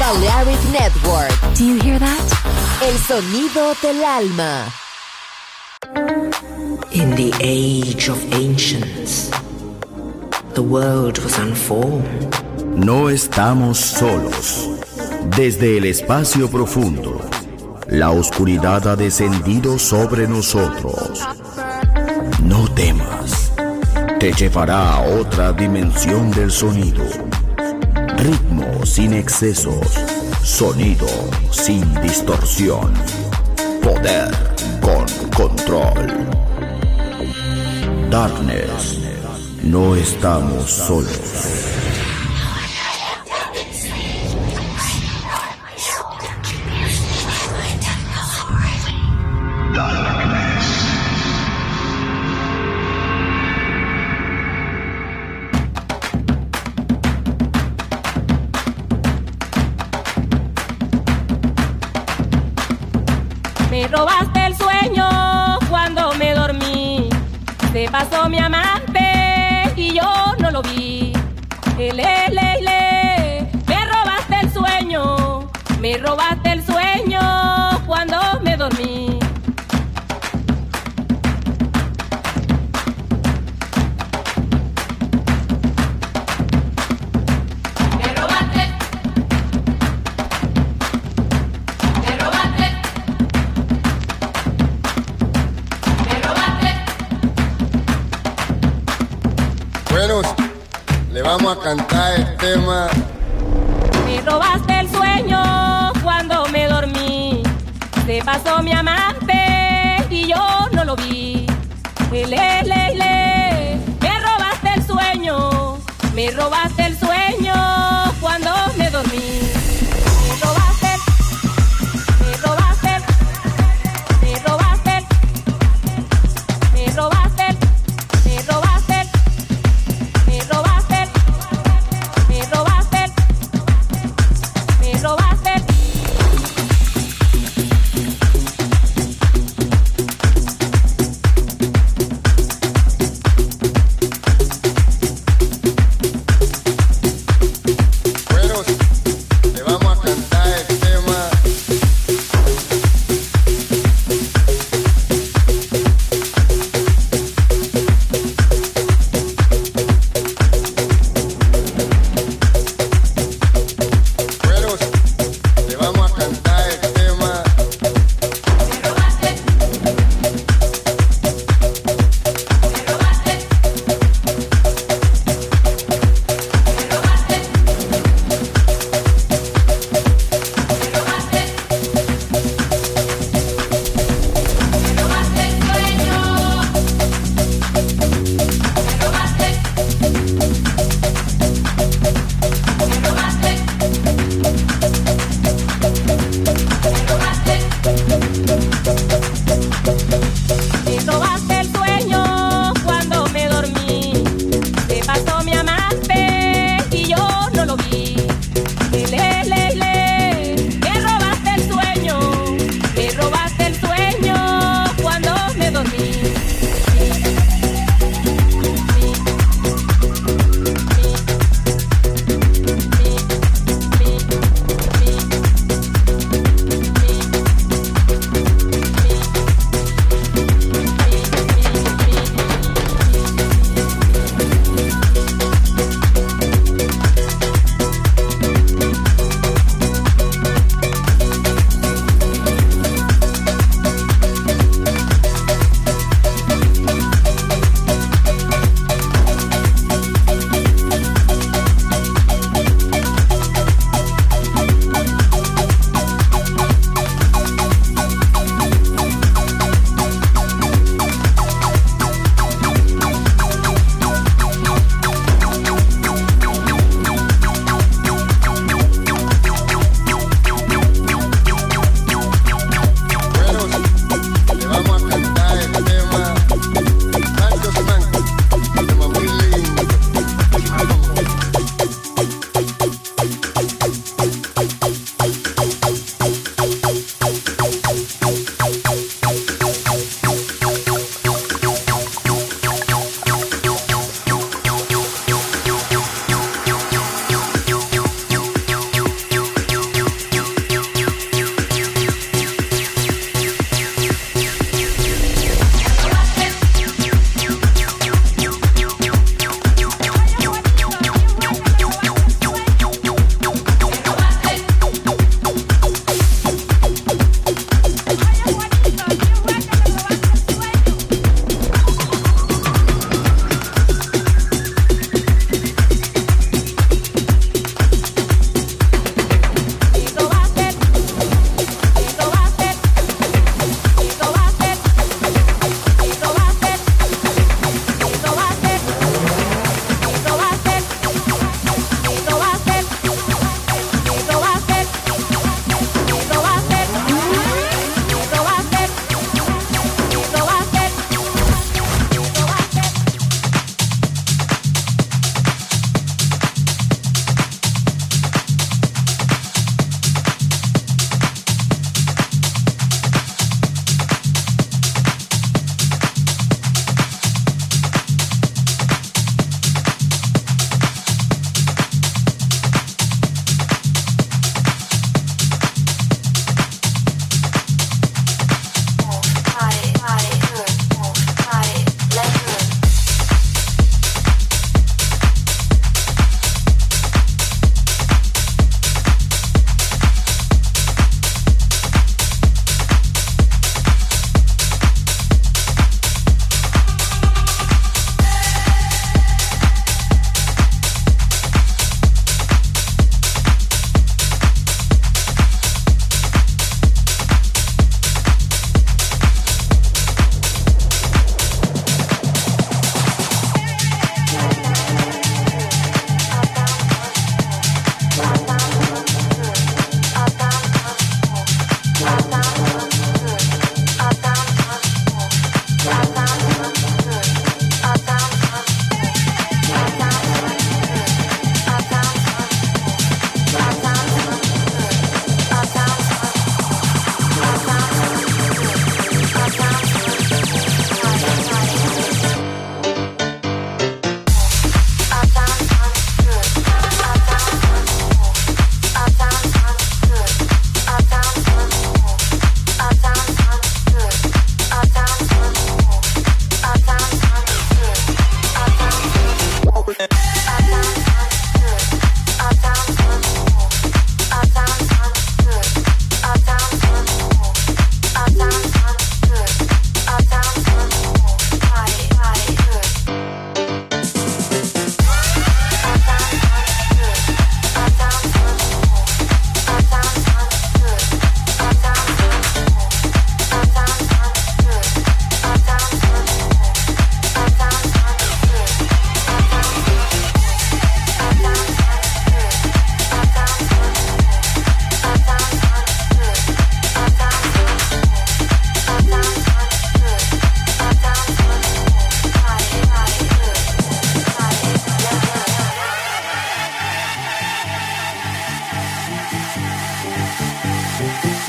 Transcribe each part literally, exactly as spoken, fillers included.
Balearic Network. Do you hear that? El sonido del alma. In the age of ancients, the world was unformed. No estamos solos. Desde el espacio profundo, la oscuridad ha descendido sobre nosotros. No temas, te llevará a otra dimensión del sonido. Ritmo sin excesos, sonido sin distorsión, poder con control. Darkness, no estamos solos. Me robaste el sueño cuando me dormí. Se pasó mi amante y yo no lo vi. Ele, le, le. Me robaste el sueño. Me robaste el sueño cuando me dormí. Le vamos a cantar el tema. Me robaste el sueño cuando me dormí. Se pasó mi amante y yo no lo vi. Le, le, le. Me robaste el sueño. Me robaste el sueño cuando me dormí. Me robaste, me robaste, me robaste, me robaste, me robaste. Me robaste, me robaste, me robaste.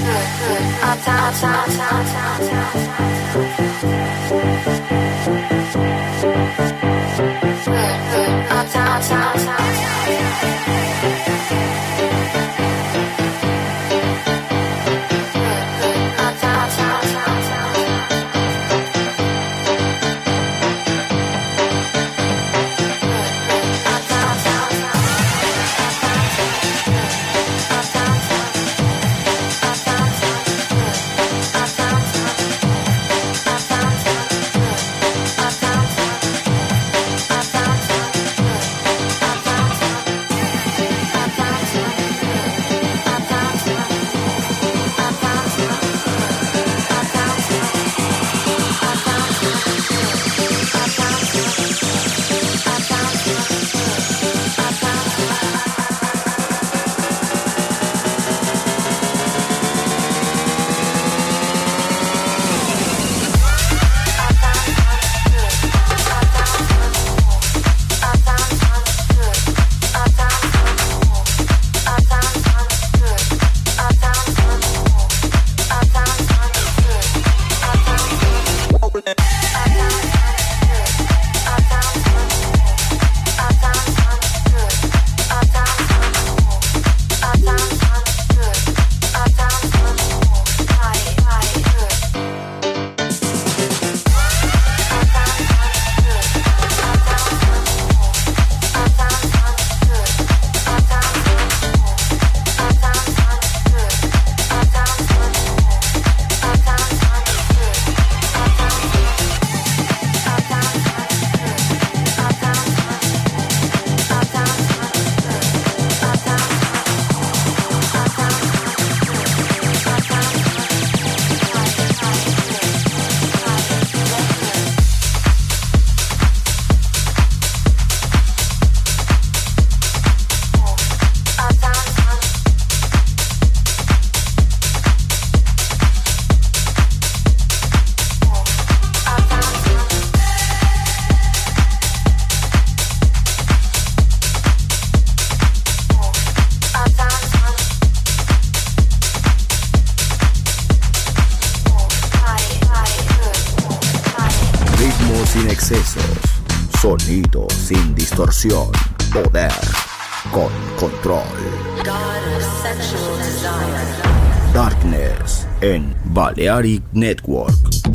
Sin excesos, sonido sin distorsión, poder con control. Darkness en Balearic Network.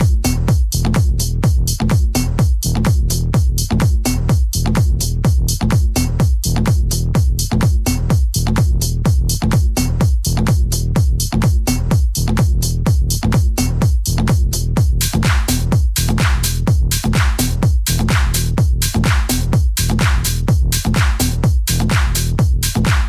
Bye.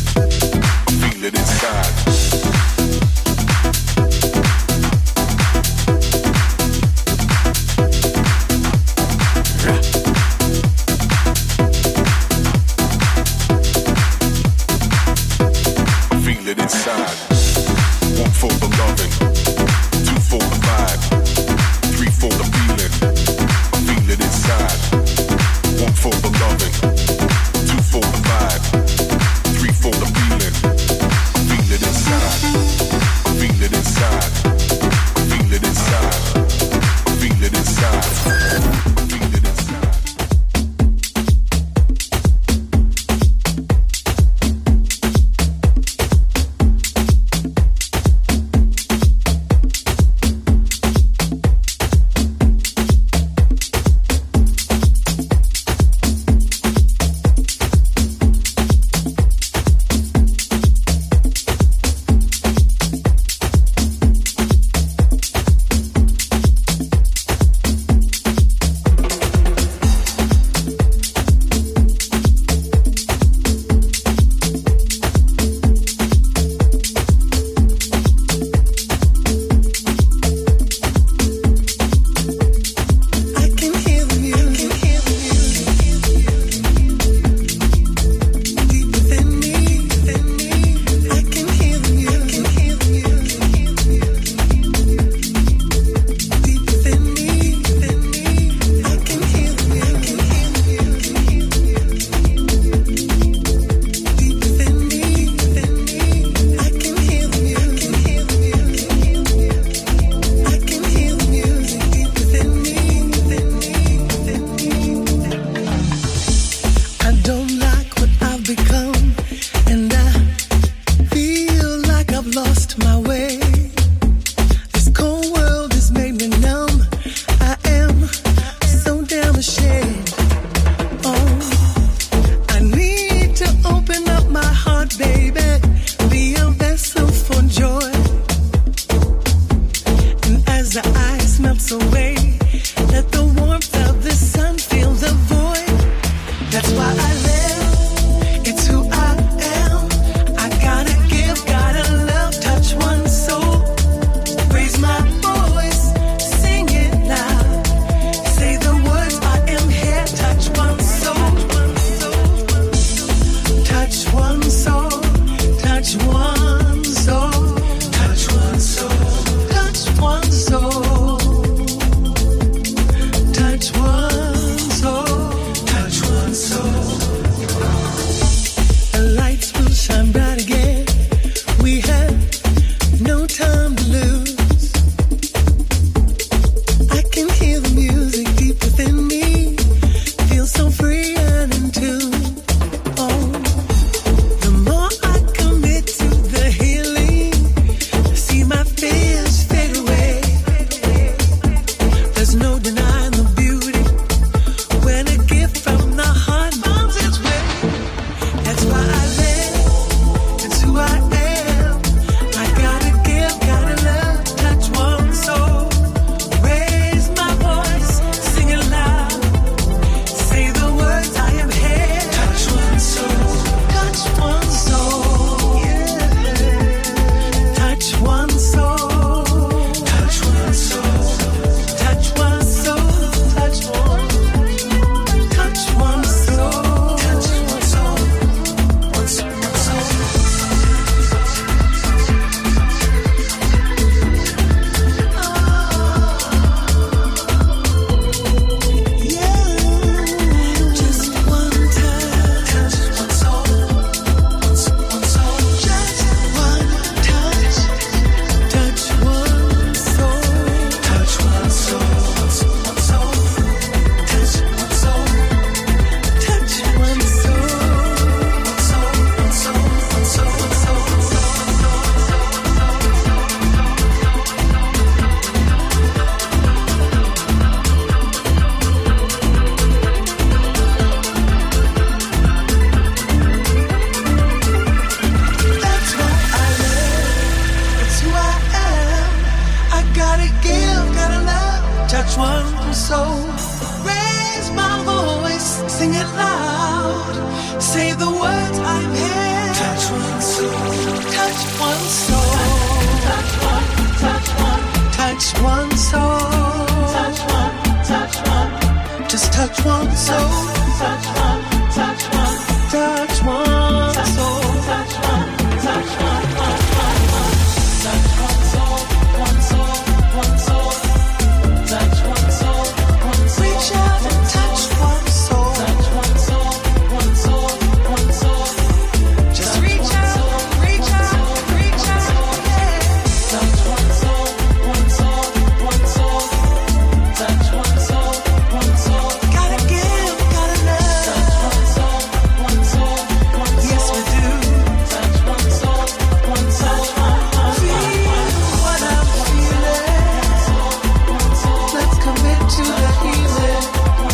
one soul. Raise my voice, sing it loud. Say the words I'm here. Touch one soul. Touch one soul. Touch one, touch one. Touch one soul. Touch one, touch one. Just touch one soul. Touch one, touch one. Touch one soul. Touch one, touch one. Touch one soul. One soul. One soul. Touch one soul. One soul. Reach out and touch one soul. Touch one soul. One soul. One soul. Just reach out, reach out, reach out. Yeah. Touch one soul. One soul. One soul. Touch one soul. One soul. Gotta give, gotta love. Touch one soul. One soul. One soul. Yes, we do. Touch one soul. One soul. Feel what I'm feeling. Let's commit to the healing.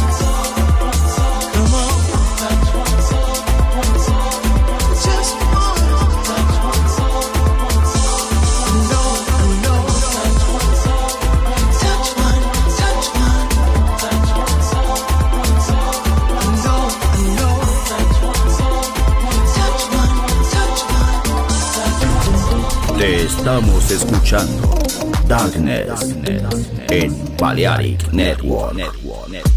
Come on. Just one. No, no. Touch one, touch one. No, no. Touch one, touch one. Te estamos escuchando Darkness en Balearic Network. Network, Network.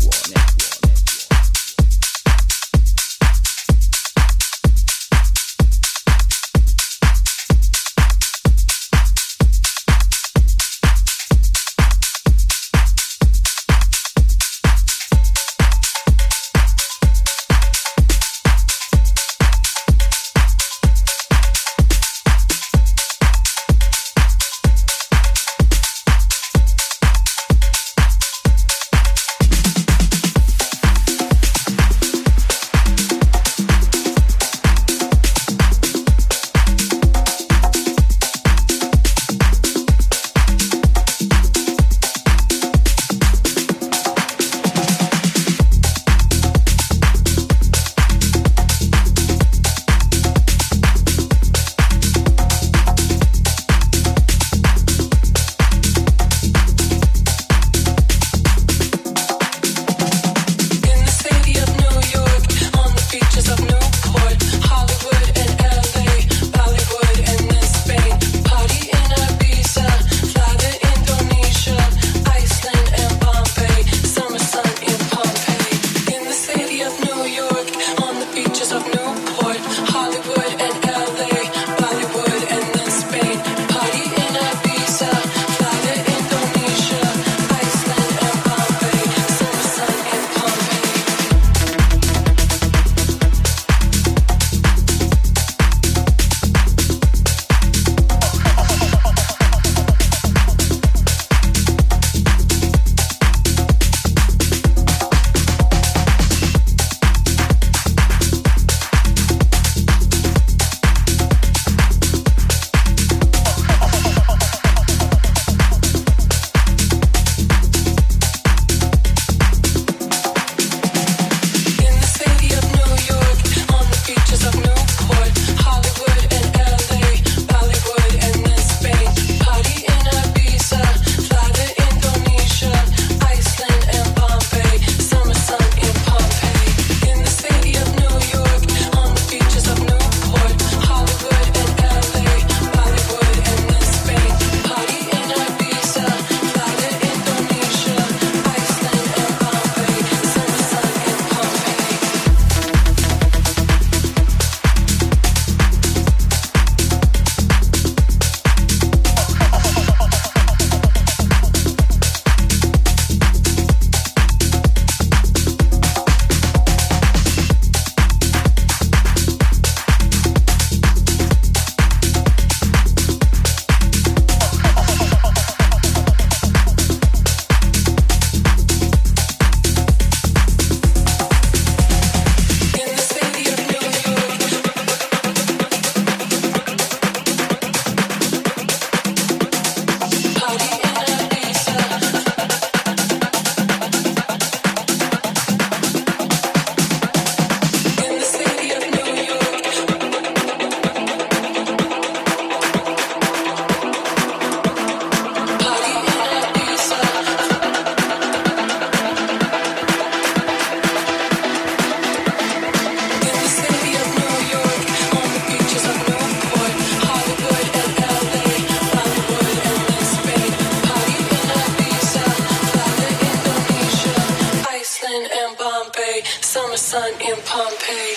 Pompeii, summer sun in Pompeii.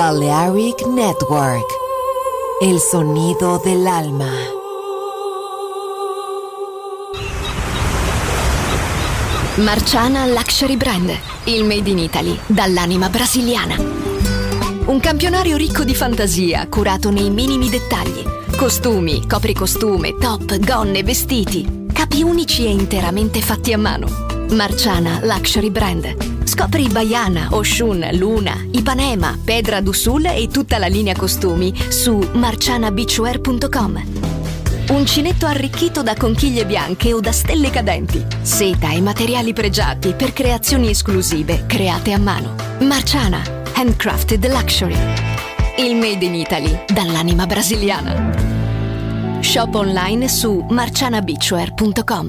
Balearic Network, el sonido del alma. Marciana Luxury Brand, il made in Italy dall'anima brasiliana. Un campionario ricco di fantasia, curato nei minimi dettagli. Costumi, copricostume, top, gonne, vestiti. Capi unici e interamente fatti a mano. Marciana Luxury Brand. Scopri Baiana, Oshun, Luna, Ipanema, Pedra do Sul e tutta la linea costumi su marciana beachwear punto com. Uncinetto arricchito da conchiglie bianche o da stelle cadenti. Seta e materiali pregiati per creazioni esclusive create a mano. Marciana, handcrafted luxury. Il made in Italy dall'anima brasiliana. Shop online su marciana beachwear punto com.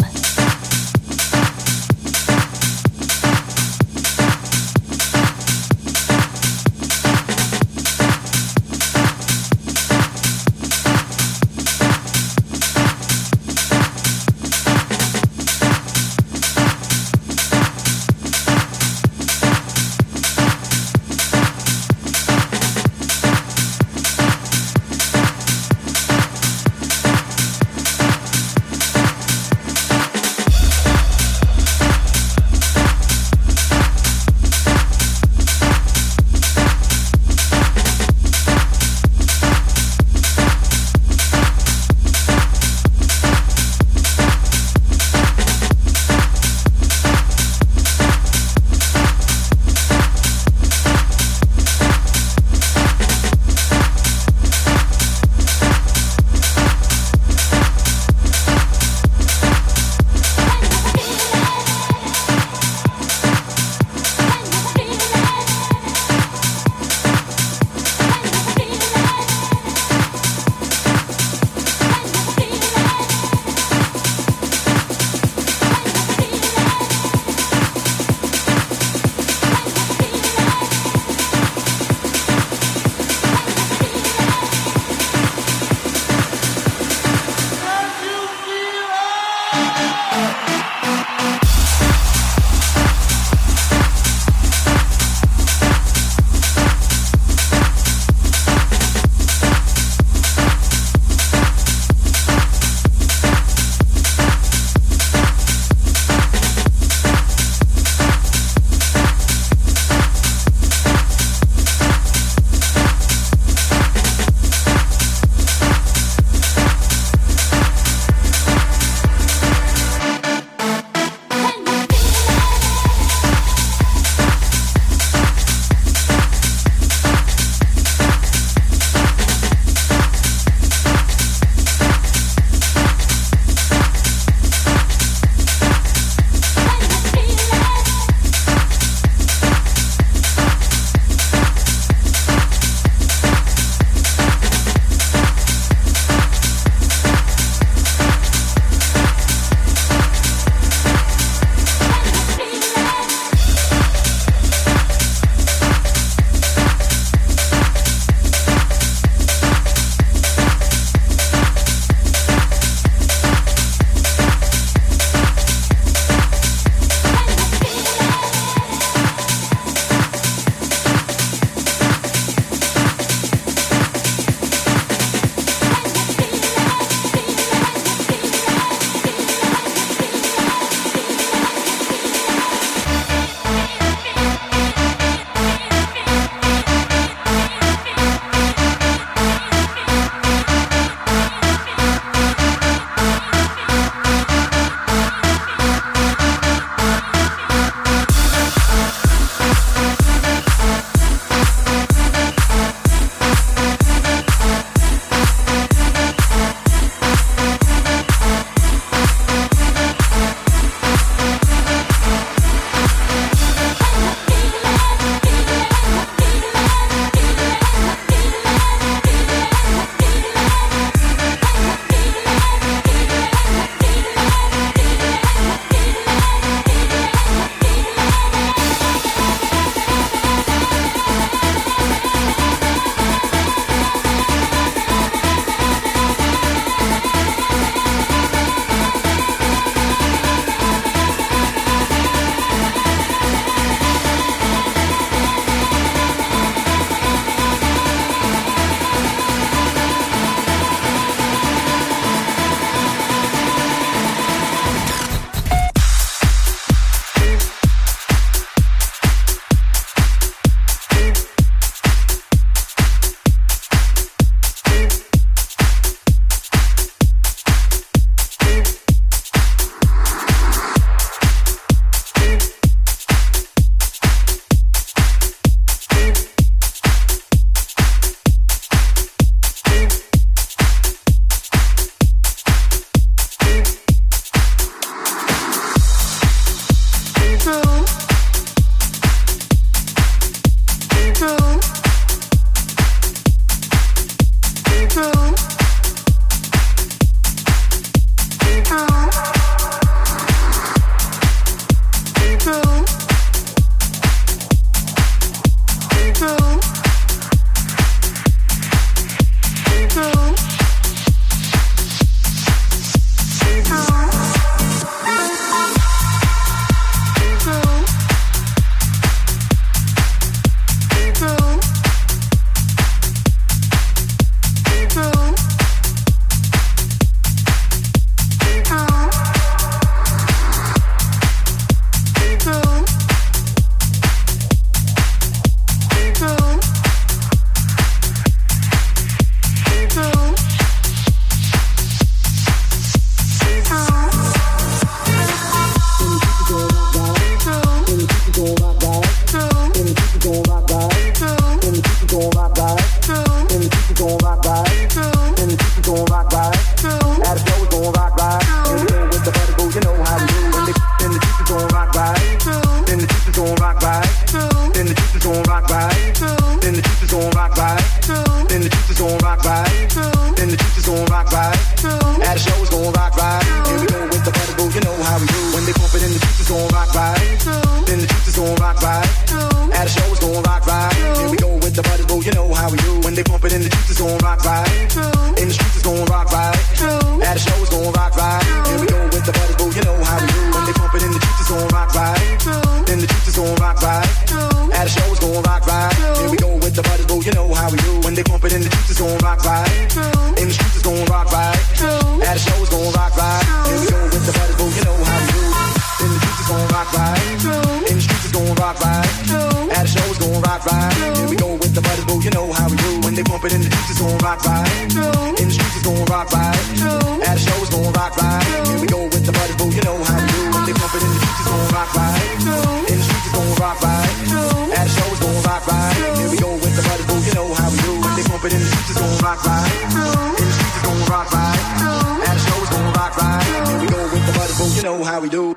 gon' rock right. Then the juice is gon' rock right. At the show is gon' rock right. And we go with the butterball, you know how we do. When they, then the juice is gon' rock right. Then the juice is gon' rock right. Then the juice is gon' rock right. Then the juice is gon' rock right. Then the juice is gon' rock right. Then the juice is gon' rock right. At the show is gon' rock right. And we go with the butterball, you know how we do. When they pump it in, the juice is gon' rock right. Then the juice is gon' rock right. At the show is gon' rock right. And we go with the butterball, you know how we do. When they pump it in, the juice is gon' rock right. In the streets is gon' rock right. At the show is gon' rock right. And we go with the butterball, you know how we do. When they pump it in, the juice is gon' rock right. Then the juice is gon' rock right. At the show is gon' rock right. And we go with the butterball, you know how we do. When they pump it in, the juice is gon' rock right. In the streets is gon' rock right. At the show is gon' rock right. And we go with the butterball, you know how we do. Then the juice is gon' rock right. In the streets is gon' rock right. At the show is gon' rock right. And we go with the butterball, you know how we do. When they pump it in, the juice is gon' rock right. In the streets is gon' rock right. At the show is gon' rock right. And we go with the butterball, you know how we do. When they pump it in, the juice is gon' rock right. In the streets is gon' rock right. At the show is gon' rock right. And we go with the butterball, you know how we do. When they pump it in, the juice is gon' rock right. In the streets is gon' rock right. At the show is gon' rock right. And we go with the butterball, you know how we do.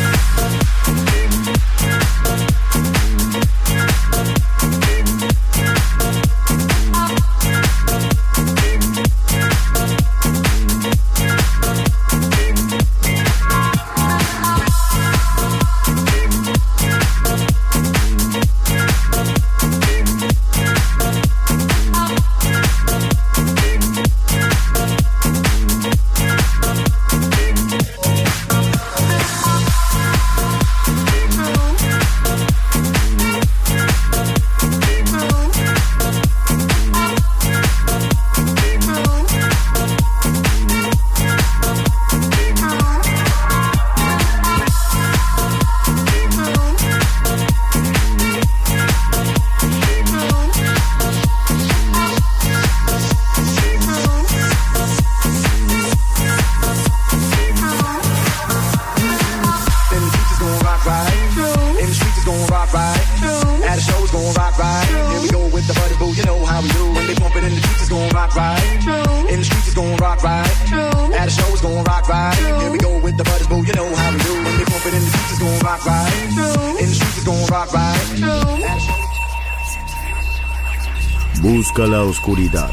Busca la oscuridad.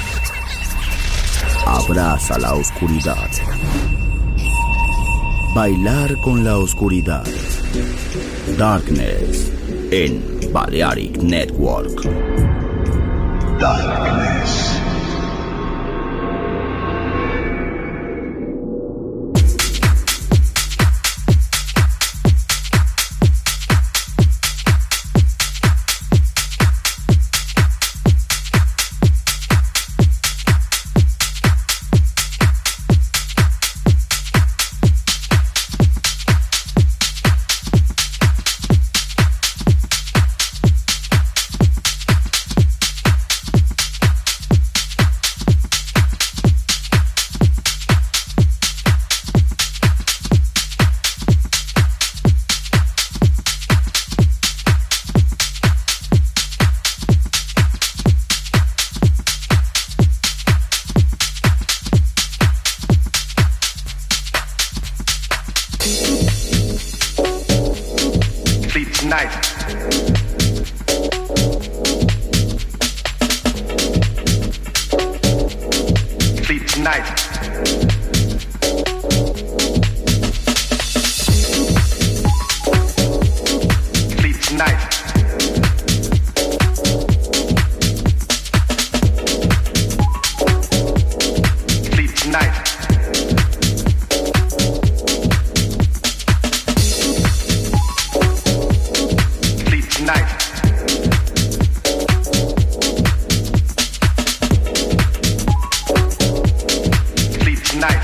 Abraza la oscuridad. Bailar con la oscuridad. Darkness en Balearic Network. Darkness. Sleep tonight.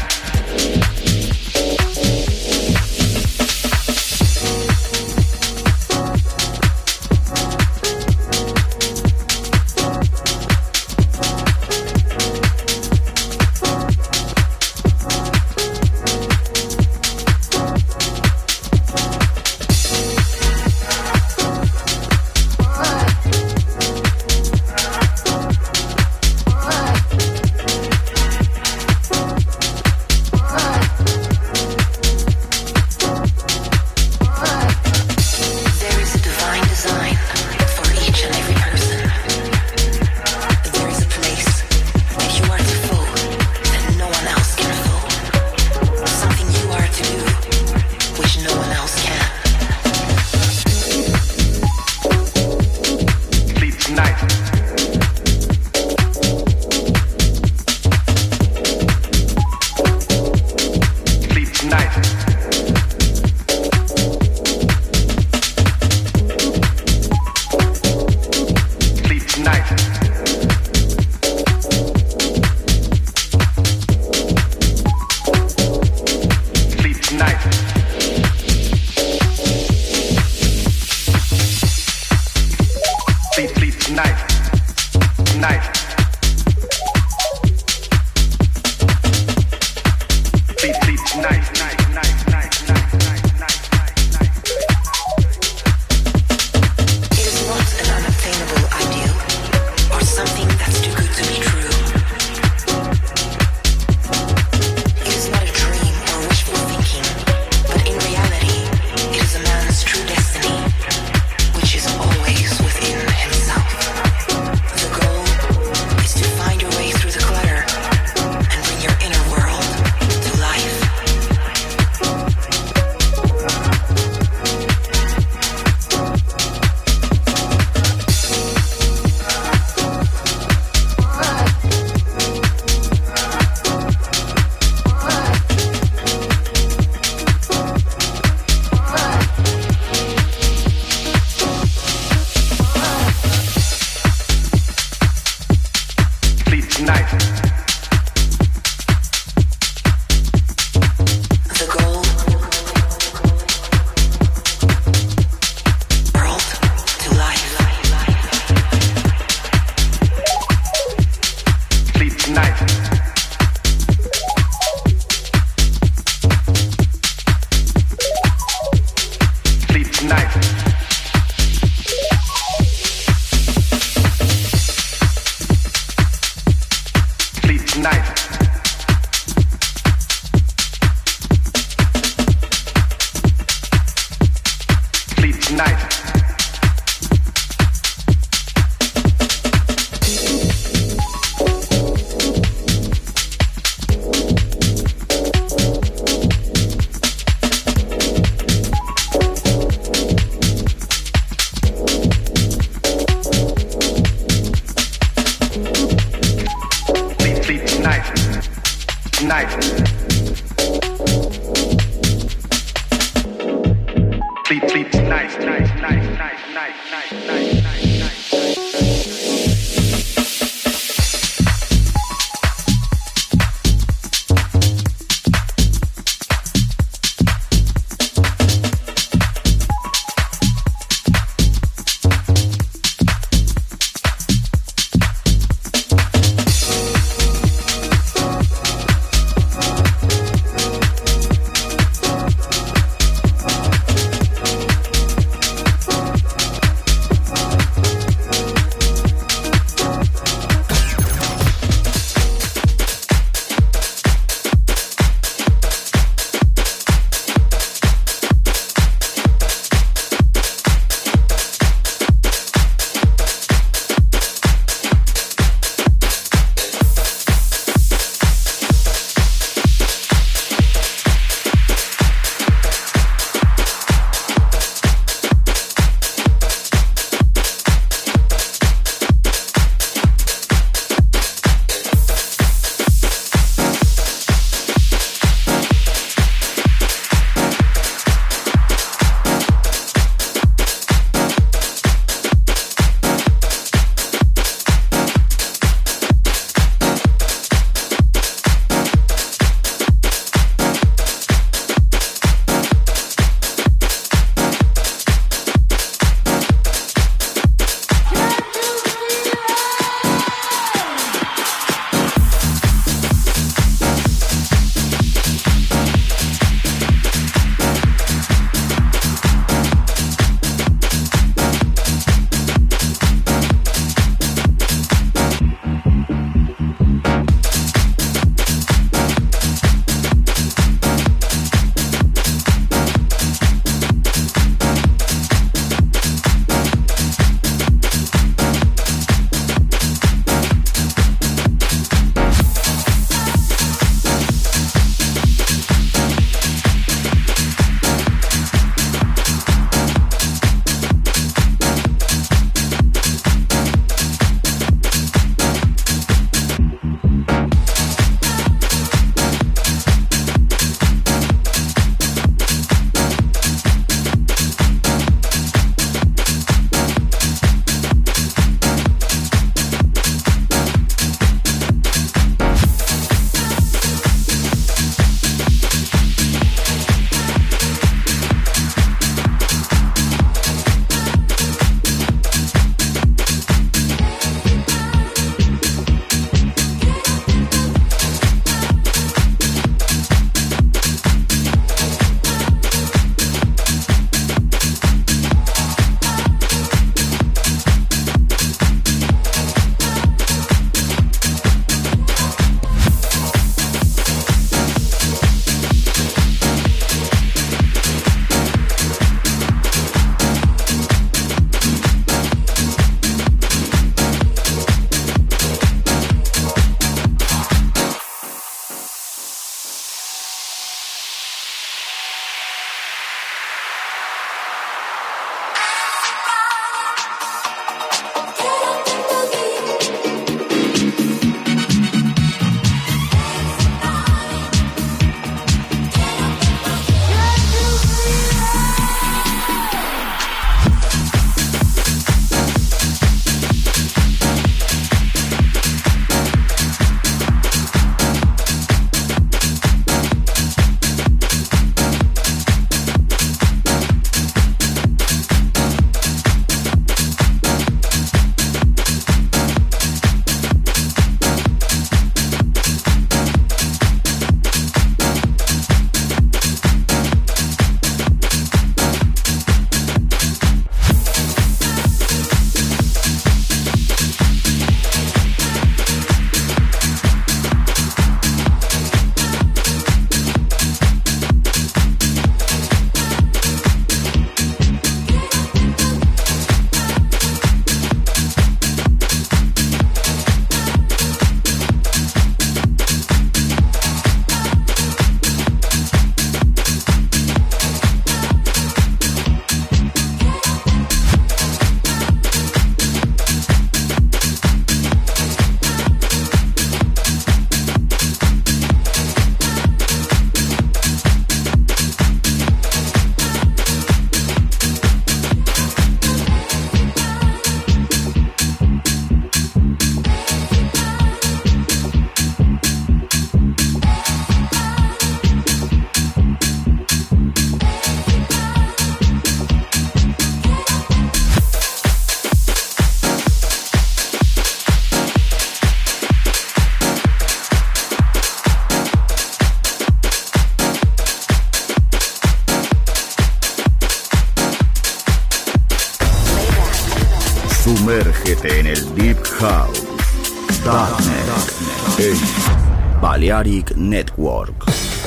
Sumérgete en el Deep House. Darknet en Balearic Network.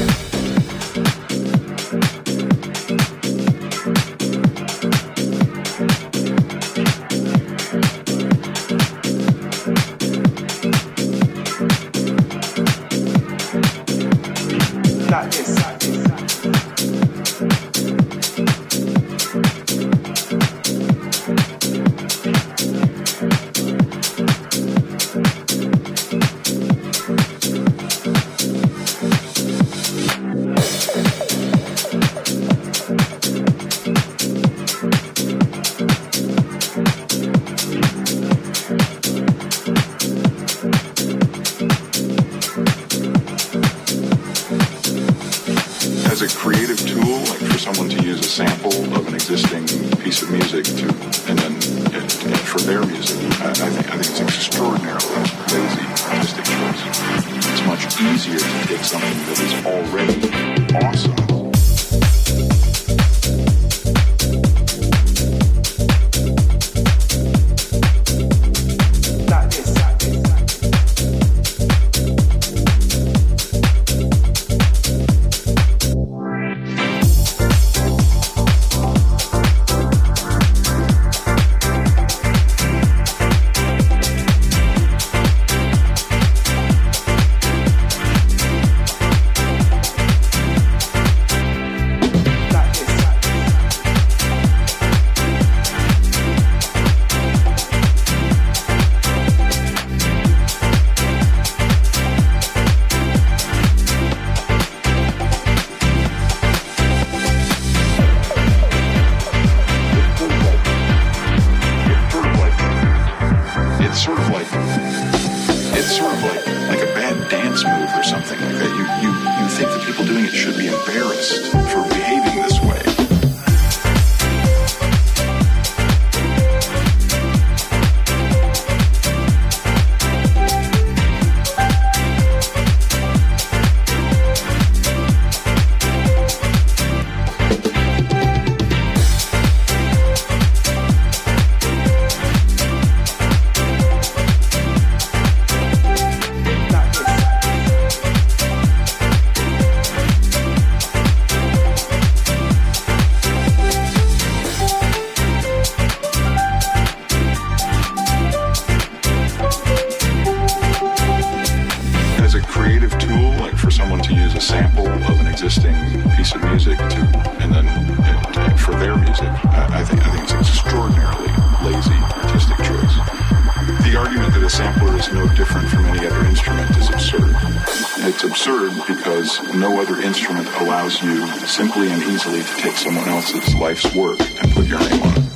Simply and easily to take someone else's life's work and put your name on it.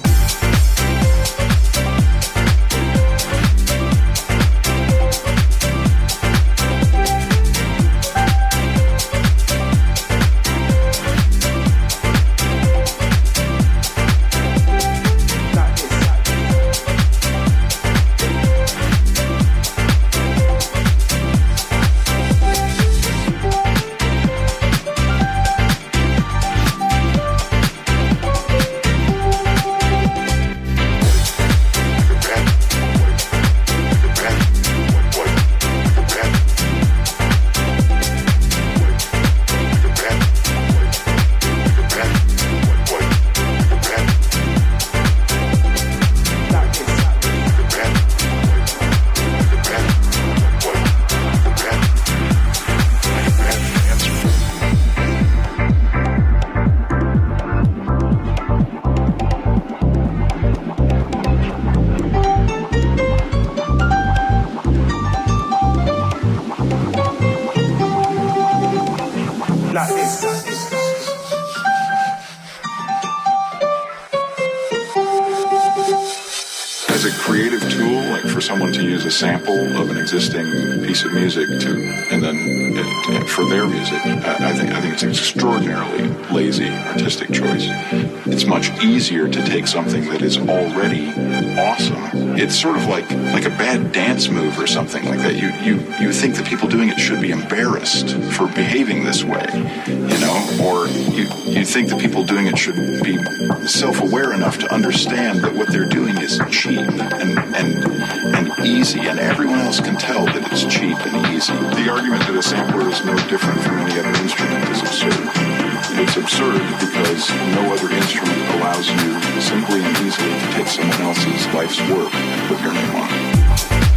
As a creative tool like for someone to use a sample of an existing piece of music to, and then uh, for their music, I, I think I think it's an extraordinarily lazy artistic choice. It's much easier to take something that is already awesome. It's sort of like like a bad dance move or something like that. You you you think the people doing it should be embarrassed for behaving this way, you know, or you you think the people doing it should be self-aware enough to understand that what they're doing is cheap and and and easy, and everyone else can tell that it's cheap and easy. The argument that a sampler is no different from any other instrument is absurd. It's absurd because no other instrument allows you simply and easily to take someone else's life's work and put your name on it.